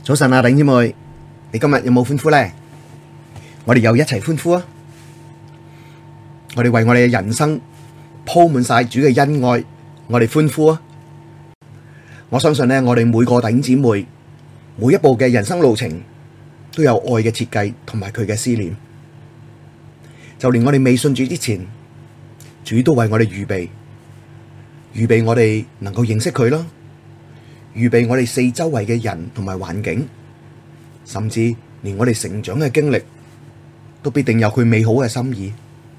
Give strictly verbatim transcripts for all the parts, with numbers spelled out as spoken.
早晨啊，弟兄姊妹，你今日有冇歡呼呢？我哋又一齊歡呼啊！我哋為我哋嘅人生鋪滿晒主嘅恩愛，我哋歡呼啊！我相信呢，我哋每個弟兄姊妹每一步嘅人生路程都有愛嘅設計同埋佢嘅思念，就連我哋未信主之前，主都為我哋預備，預備我哋能夠認識佢啦。預備我哋四周圍嘅人同埋環境，甚至連我哋成長嘅經歷，都必定有佢美好嘅心意。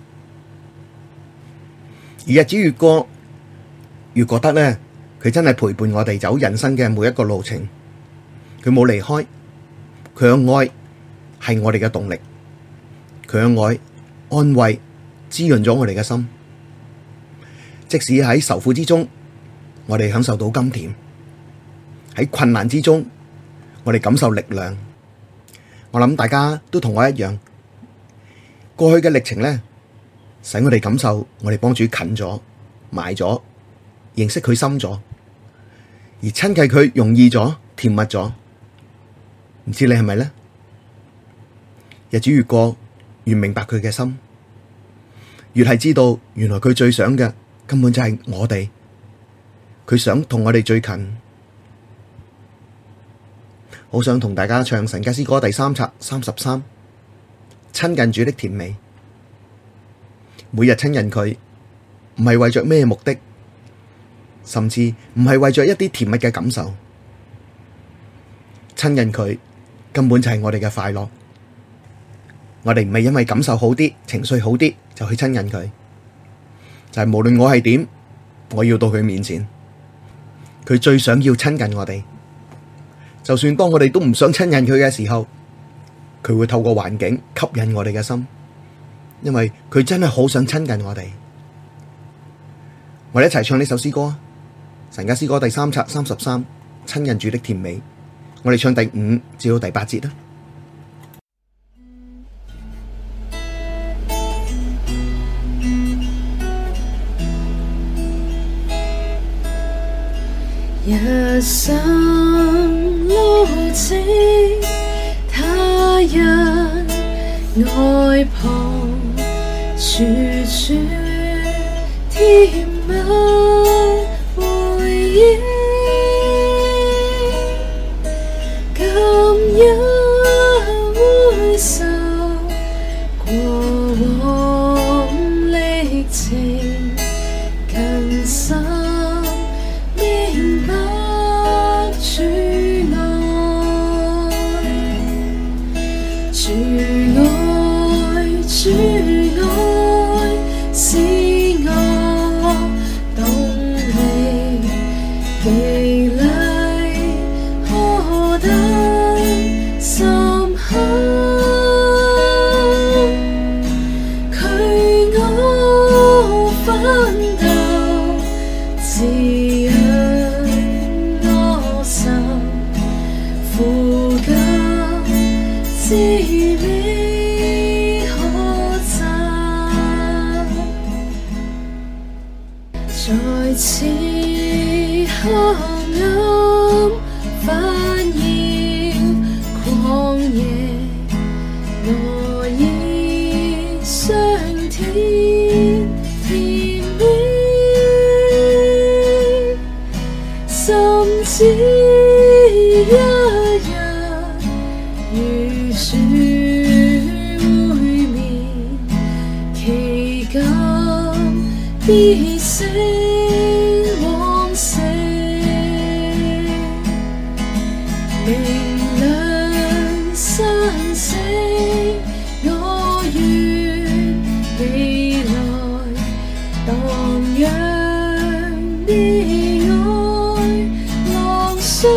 而日子越過，越覺得呢，佢真係陪伴我哋走人生嘅每一個路程，佢冇離開，佢嘅愛係我哋嘅動力，佢嘅愛安慰滋潤咗我哋嘅心，即使喺愁苦之中，我哋享受到甘甜。喺困難之中，我哋感受力量。我諗大家都同我一樣，過去嘅歷程呢，使我哋感受我哋幫主近咗、埋咗、認識佢深咗，而親近佢容易咗、甜蜜咗。唔知你係咪呢？日子越過，越明白佢嘅心，越係知道原來佢最想嘅根本就係我哋，佢想同我哋最近。好想同大家唱神家詩歌第三冊三十三，親近主的甜美。每日親近佢，唔係為着咩目的，甚至唔係為着一啲甜蜜嘅感受。親近佢根本就係我哋嘅快樂。我哋唔係因為感受好啲、情緒好啲就去親近佢，就係無論我係點，我要到佢面前。佢最想要親近我哋。就算當我哋都唔想親近佢嘅時候，佢會透過環境吸引我哋嘅心，因為佢真係好想親近我哋。我哋一齊唱呢首詩歌，神家詩歌第三冊三十三，親近主的甜美。我哋唱第五至到第八節啦。 一生路程，他人愛旁，處處甜蜜回憶，今日回首過往歷程，更深明白主愛，主愛，主愛是我動力，激勵何等深刻，驅我奮鬥，滋潤我心，呼吸滋味可讚，在此黑暗紛擾曠野，我已嘗甜甜蜜，甚至一日與主會面，期間必成往昔，明亮晨星，我願未來蕩漾你愛浪上，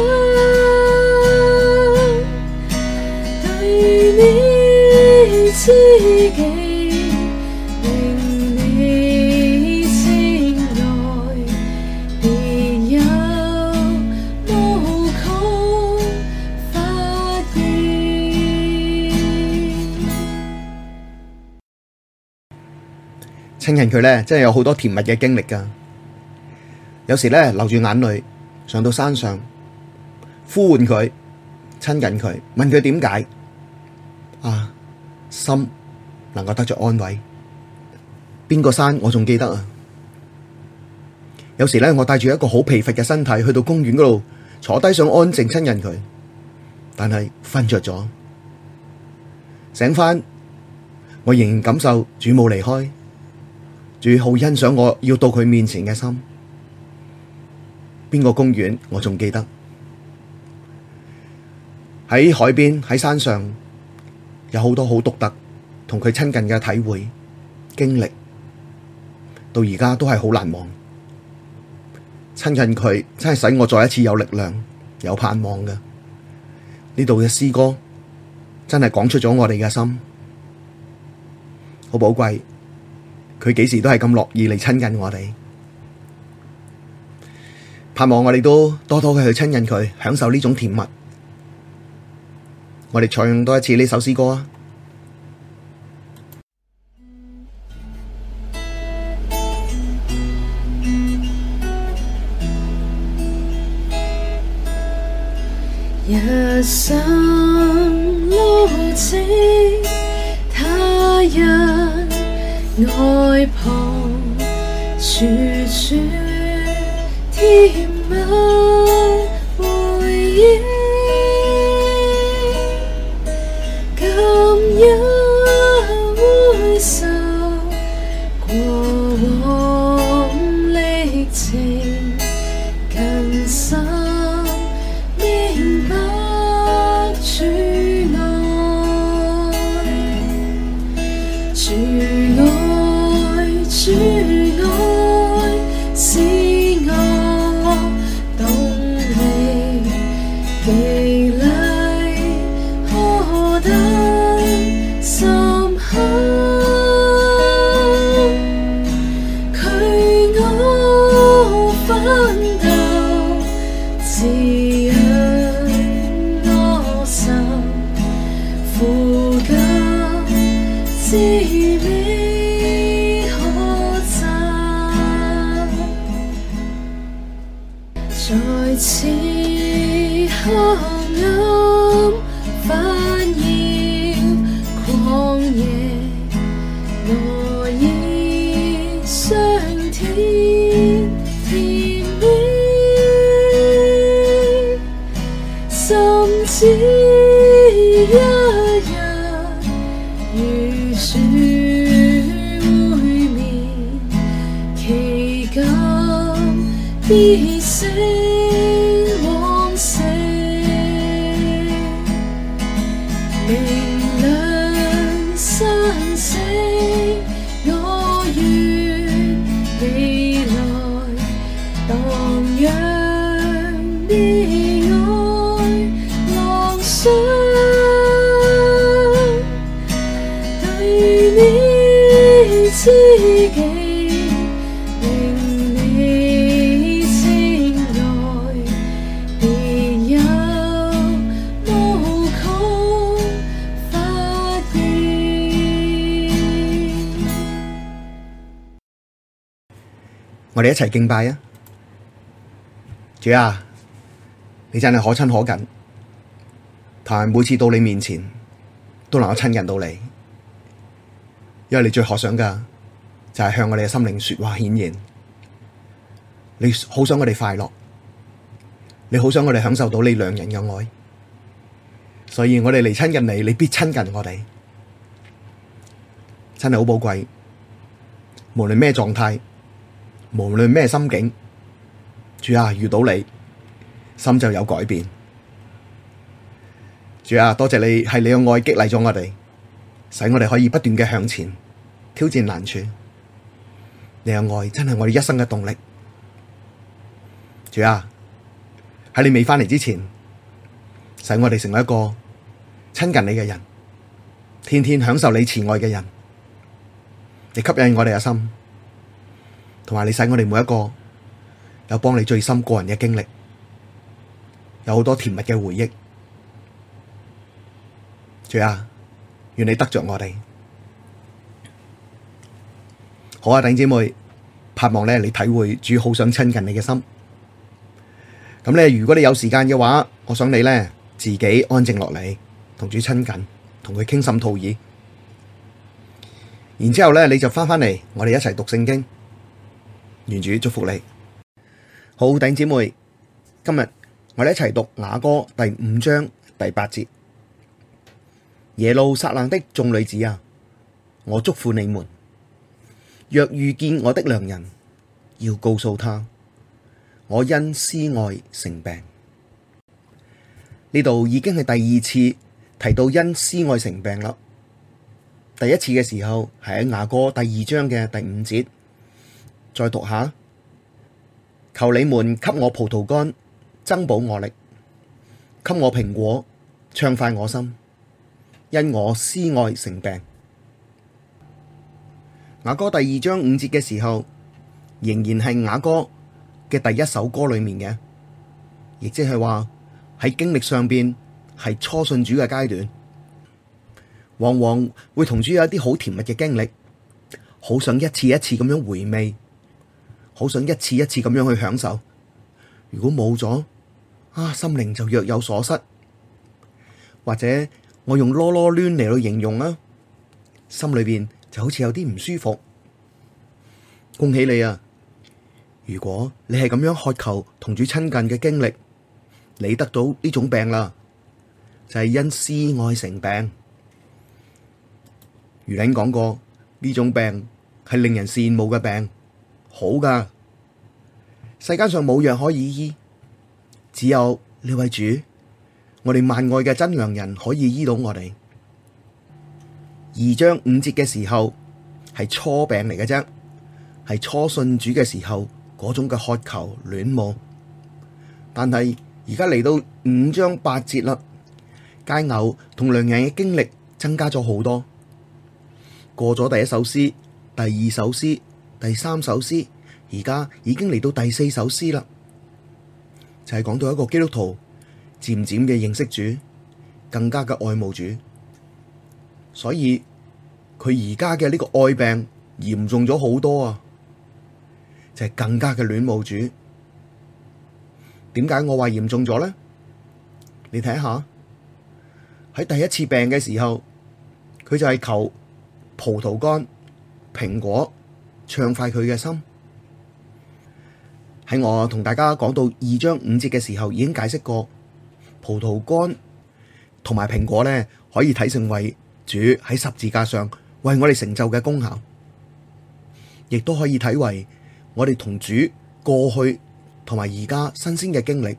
對你知己，令你情愛，別有無窮發現。 親近佢咧，真係有好多甜蜜嘅經歷噶。有時咧流住眼淚上到山上呼喚佢， 親近佢，問佢點解啊，心能夠得着安慰。邊個山我仲記得啊！有時咧，我帶住一個好疲乏嘅身體去到公園嗰度坐低，想安靜親近佢，但係瞓着咗，醒翻，我仍然感受主冇離開，主好欣賞我要到佢面前嘅心。邊個公園我仲記得？喺海邊，喺山上，有好多好獨特同佢親近嘅體會經歷，到而家都係好難忘。親近佢真係使我再一次有力量、有盼望嘅。呢度嘅詩歌真係講出咗我哋嘅心，好寶貴。佢幾時都係咁樂意嚟親近我哋，盼望我哋都多多嘅去親近佢，享受呢種甜蜜。我哋唱多一次呢首詩歌啊！ 一生路程，他人愛旁，處處甜蜜回憶，今日回首過往歷程，更深明白主愛，主愛，主愛是我動力，激勵何等深刻，驅我奮鬥，滋養我心，苦甘滋味可讚，在此黑暗煩擾曠野，我已上天甜蜜，甚至一日與主會面，期間必成往昔，明亮晨星，我願未來蕩漾你愛浪上，對你知己，令你情愛，別有無窮發現。 我哋一齊敬拜啊！主啊，你真係可親可近，但係每次到你面前都能夠親近到你，因為你最渴想嘅就係向我哋嘅心靈說話顯現。你好想我哋快樂，你好想我哋享受到你良人嘅愛，所以我哋嚟親近你，你必親近我哋，真係好寶貴。無論咩狀態，無論咩心境，主啊，遇到你心就有改變。主啊，多謝你係你嘅愛激勵咗我哋，使我哋可以不斷嘅向前挑戰難處。你嘅愛真係我哋一生嘅動力。主啊，喺你未翻嚟之前，使我哋成為一個親近你嘅人，天天享受你慈愛嘅人。你吸引我哋嘅心，同埋你使我哋每一個有幫你最深個人嘅經歷，有好多甜蜜嘅回憶。主啊，願你得着我哋。好啊，弟兄姊妹，盼望咧你體會主好想親近你嘅心。咁咧，如果你有時間嘅話，我想你咧自己安靜落嚟，同主親近，同佢傾心吐意。然之後咧，你就翻返嚟，我哋一齊讀聖經。願主祝福你。好，弟兄姊妹，今日我哋一齊讀雅歌第五章第八節。耶路撒冷的眾女子啊，我囑咐你們，若遇見我的良人，要告訴他，我因思愛成病。呢度已經係第二次提到因思愛成病啦。第一次嘅時候係喺雅歌第二章嘅第五節，再讀下，求你們給我葡萄乾，增補我力；給我蘋果，暢快我心，因我思愛成病。雅歌第二章五節嘅時候，仍然係雅歌嘅第一首歌裏面嘅，亦即係話喺經歷上邊係初信主嘅階段。往往會同主有一啲好甜蜜嘅經歷，好想一次一次咁樣回味，好想一次一次咁樣去享受。如果冇咗啊，心靈就若有所失，或者我用囉囉攣嚟去形容啦，心裏邊就好似有啲唔舒服。恭喜你啊！如果你係咁樣渴求同主親近嘅經歷，你得到呢種病啦，就係因思愛成病。如領講過，呢種病係令人羨慕嘅病，好噶。世間上冇藥可以醫，只有呢位主，我哋萬愛嘅真良人可以醫到我哋。二章五節嘅時候係初病嚟嘅啫，係初信主嘅時候嗰種嘅渴求戀慕。但係而家嚟到五章八節啦，佳偶同良人嘅經歷增加咗好多。過咗第一首詩、第二首詩、第三首詩，而家已經嚟到第四首詩啦，就係講到一個基督徒漸漸嘅認識主，更加嘅愛慕主，所以佢而家嘅呢個愛病嚴重咗好多啊，就係更加嘅戀慕主。點解我話嚴重咗呢？你睇下喺第一次病嘅時候，佢就係求葡萄乾、蘋果，暢快佢嘅心。喺我同大家講到二章五節嘅時候，已經解釋過葡萄乾同埋蘋果咧，可以睇成為主喺十字架上為我哋成就嘅功效，亦都可以睇為我哋同主過去同埋而家新鮮嘅經歷。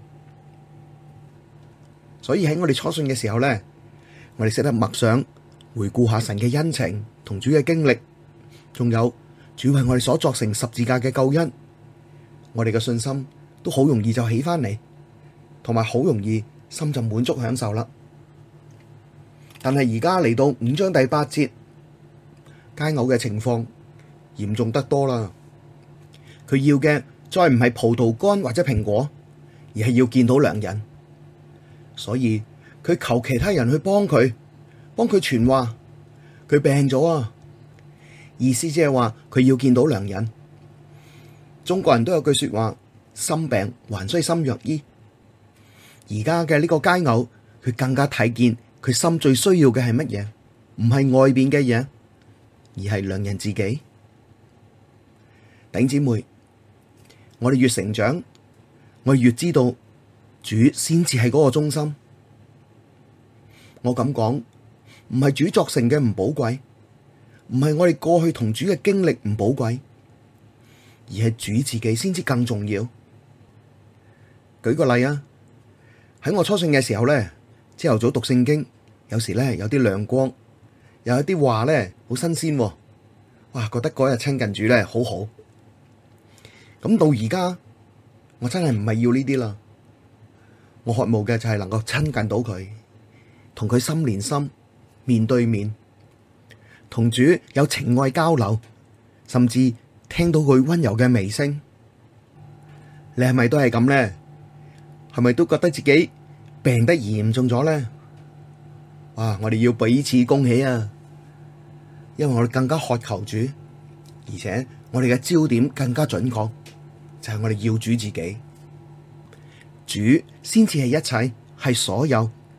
所以喺我哋初信嘅時候咧，我哋識得默想回顧下神嘅恩情同主嘅經歷，仲有主為我哋所作成十字架嘅救恩，我哋嘅信心都好容易就起翻嚟，同埋好容易心就滿足享受啦。但係而家嚟到五章第八節，佳偶嘅情況嚴重得多啦。佢要嘅再唔係葡萄乾或者蘋果，而係要見到良人，所以佢求其他人去幫佢，幫佢傳話。佢病咗啊，意思即係話佢要見到良人。中國人都有句說話，心病還需心藥醫。而家嘅呢個佳偶，佢更加睇見佢心最需要嘅係乜嘢？唔係外邊嘅嘢，而係良人自己。弟兄姊妹，我哋越成長，我哋越知道主先至係嗰個中心。我咁講，唔係主作成嘅唔寶貴，唔係我哋過去同主嘅經歷唔寶貴，而係主自己先至更重要。舉個例啊，喺我初信嘅時候咧，朝頭早讀聖經，有時咧有啲亮光，又有啲話咧好新鮮，哇！覺得嗰日親近主咧好好。咁到而家，我真係唔係要呢啲啦，我渴慕嘅就係能夠親近到佢，同佢心連心，面對面，同主有情愛交流，甚至聽到佢溫柔嘅微聲。你係咪都係咁呢？係咪都覺得自己病得嚴重咗呢？哇！我哋要彼此恭喜啊！因為我哋更加渴求主，而且我哋嘅焦點更加準確，就係我哋要主自己，主先至係一切，係所有，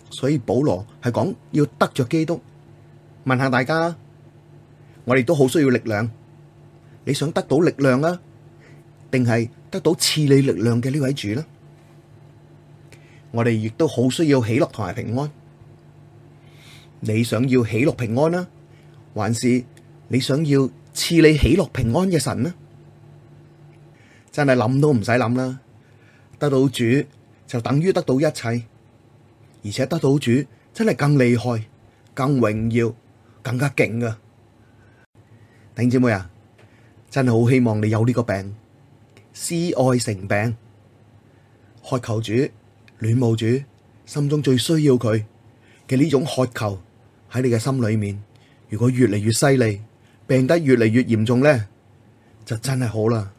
所以保羅係講要得着基督。問下大家，我哋都好需要力量。你想得到力量啊，定係得到賜你力量嘅呢位主呢？我哋亦都好需要喜樂同埋平安。你想要喜樂平安啊，還是你想要賜你喜樂平安嘅神呢？真係諗都唔使諗啦，得到主就等於得到一切，而且得到主真係更厲害、更榮耀、更加勁啊！弟兄姊妹啊，真係好希望你有呢個病，思愛成病，渴求主、戀慕主，心中最需要佢嘅呢種渴求喺你嘅心裏面。如果越嚟越犀利，病得越嚟越嚴重咧，就真係好啦。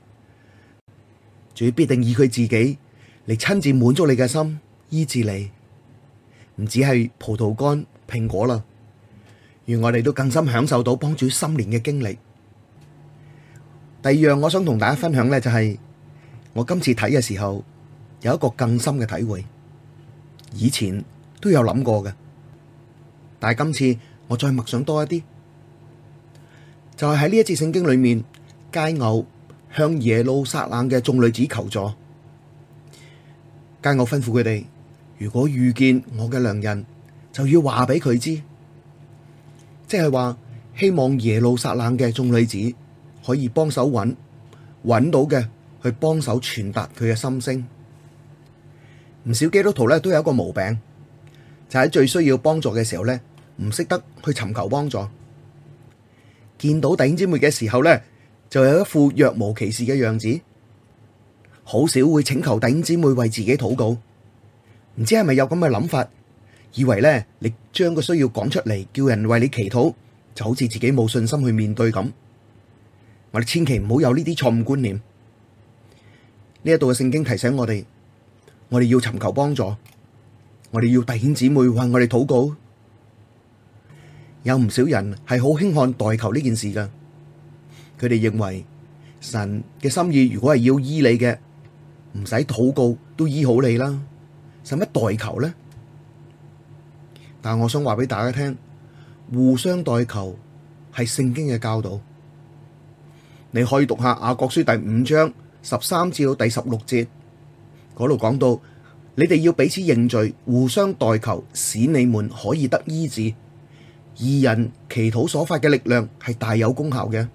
主必定以佢自己嚟親自滿足你嘅心，醫治你，唔止係葡萄乾、蘋果啦。願我哋都更深享受到幫主心連嘅經歷。第二樣我想同大家分享咧，就係我今次睇嘅時候有一個更深嘅體會，以前都有諗過嘅，但係今次我再默想多一啲，就係喺呢一節聖經裏面，佳偶向耶路撒冷嘅眾女子求助。佳偶吩咐佢哋，如果遇見我嘅良人，就要話俾佢知，即係話希望耶路撒冷嘅眾女子可以幫手揾，揾到嘅去幫手傳達佢嘅心聲。唔少基督徒咧都有一個毛病，就喺最需要幫助嘅時候咧，唔識得去尋求幫助。見到弟兄姊妹嘅時候咧，就有一副若無其事嘅樣子，好少會請求弟兄姊妹為自己禱告。唔知係咪有咁嘅諗法，以為咧你將個需要講出嚟，叫人為你祈禱，就好似自己冇信心去面對咁。我哋千祈唔好有呢啲錯誤觀念。呢一度嘅聖經提醒我哋，我哋要尋求幫助，我哋要弟兄姊妹為我哋禱告。有唔少人係好輕看代求呢件事噶，佢哋認為神嘅心意如果係要醫你嘅，唔使禱告都醫好你啦，使乜代求呢？但我想話俾大家聽，互相代求係聖經嘅教導。你可以讀下雅各書第五章十三至到第十六節，嗰度講到，你哋要彼此認罪，互相代求，使你們可以得醫治。義人祈禱所發嘅力量係大有功效嘅。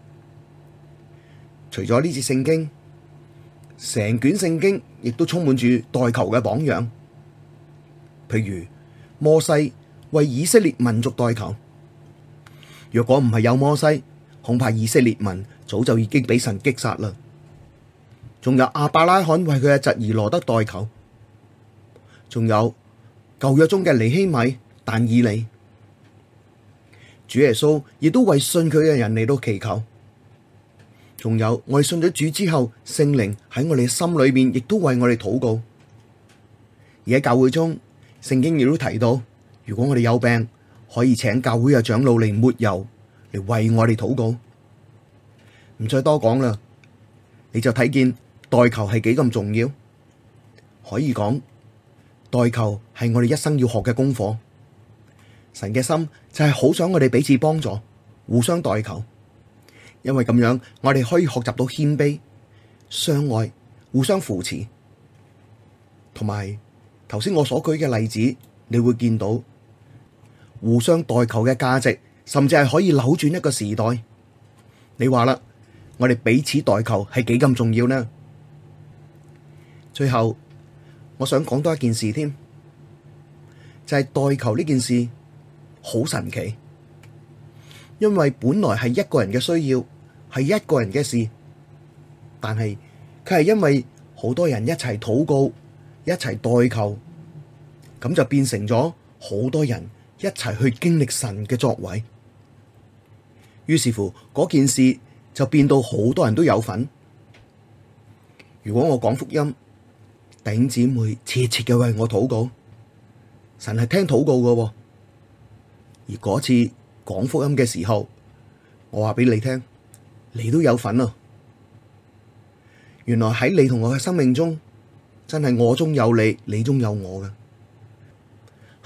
除咗呢節聖經，成卷聖經亦都充滿住代求嘅榜樣。譬如摩西為以色列民族代求，若果唔係有摩西，恐怕以色列民早就已經俾神擊殺啦。仲有亞伯拉罕為佢嘅侄兒羅得代求，仲有舊約中嘅尼希米、但以理。主耶穌亦都為信佢嘅人嚟到祈求，仲有我哋信咗主之後，聖靈喺我哋心裏面亦都為我哋禱告。而喺教會中，聖經亦都提到，如果我哋有病，可以請教會嘅長老嚟抹油，嚟為我哋禱告。唔再多講啦，你就睇見代求係幾咁重要。可以講，代求係我哋一生要學嘅功課。神嘅心就係好想我哋彼此幫助，互相代求，因為咁樣我哋可以學習到謙卑、相愛、互相扶持。同埋頭先我所舉嘅例子，你會見到互相代求嘅價值，甚至係可以扭轉一個時代。你話啦，我哋彼此代求係幾咁重要呢？最後我想講多一件事添，就係代求呢件事好神奇，因為本來係一個人嘅需要，係一個人嘅事，但係佢係因為好多人一齊禱告，一齊代求，咁就變成咗好多人一齊去經歷神嘅作為。於是乎嗰件事就變到好多人都有份。如果我講福音，弟兄姊妹切切嘅為我禱告，神係聽禱告嘅。而嗰次講福音嘅時候，我話俾你聽，你都有份啊！原來喺你同我嘅生命中，真係我中有你，你中有我嘅。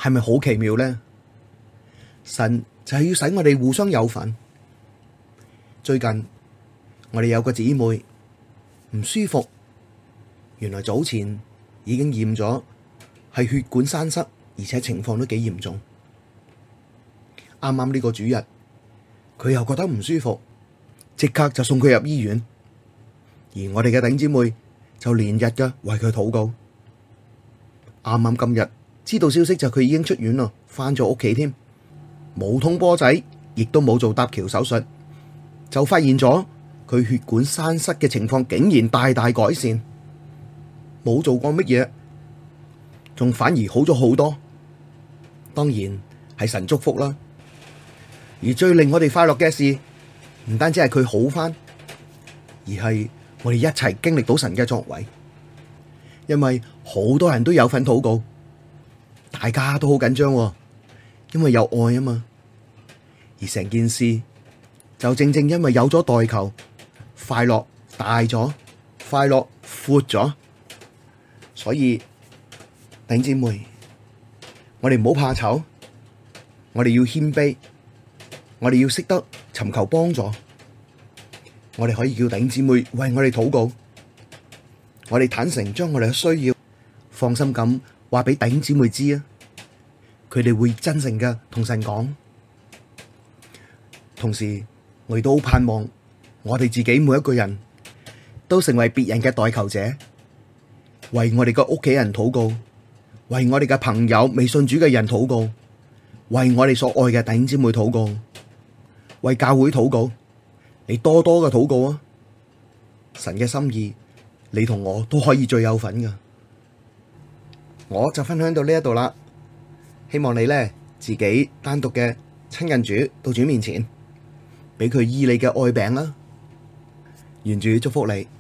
係咪好奇妙呢？神就係要使我哋互相有份。最近我哋有個姊妹唔舒服，原來早前已經驗咗係血管栓塞，而且情況都幾嚴重。啱啱呢個主日，佢又覺得唔舒服，即刻就送佢入醫院。而我哋嘅弟兄姊妹就連日嘅為佢禱告。啱啱今日知道消息就佢已經出院咯，返咗屋企添，冇通波仔，亦都冇做搭橋手術，就發現咗佢血管栓塞嘅情況竟然大大改善，冇做過乜嘢，仲反而好咗好多。當然係神祝福啦。而最令我哋快樂嘅事，唔單止係佢好返，而係我哋一齊經歷到神嘅作為。因為好多人都有份禱告，大家都好緊張，因為有愛啊嘛。而成件事就正正因為有咗代求，快樂大咗，快樂闊咗。所以弟兄姊妹，我哋唔好怕醜，我哋要謙卑，我哋要識得尋求幫助。我哋可以叫弟兄姊妹為我哋禱告，我哋坦誠將我哋嘅需要放心咁話俾弟兄姊妹知啊，佢哋會真誠嘅同神講。同時我亦都好盼望我哋自己每一個人都成為別人嘅代求者，為我哋嘅屋企人禱告，為我哋嘅朋友未信主嘅人禱告，為我哋所愛嘅弟兄姊妹禱告，為教會禱告。你多多嘅禱告啊！神嘅心意，你同我都可以最有份噶。我就分享到呢一度啦，希望你咧自己單獨嘅親近主，到主面前，俾佢醫你嘅愛病啦。願主祝福你。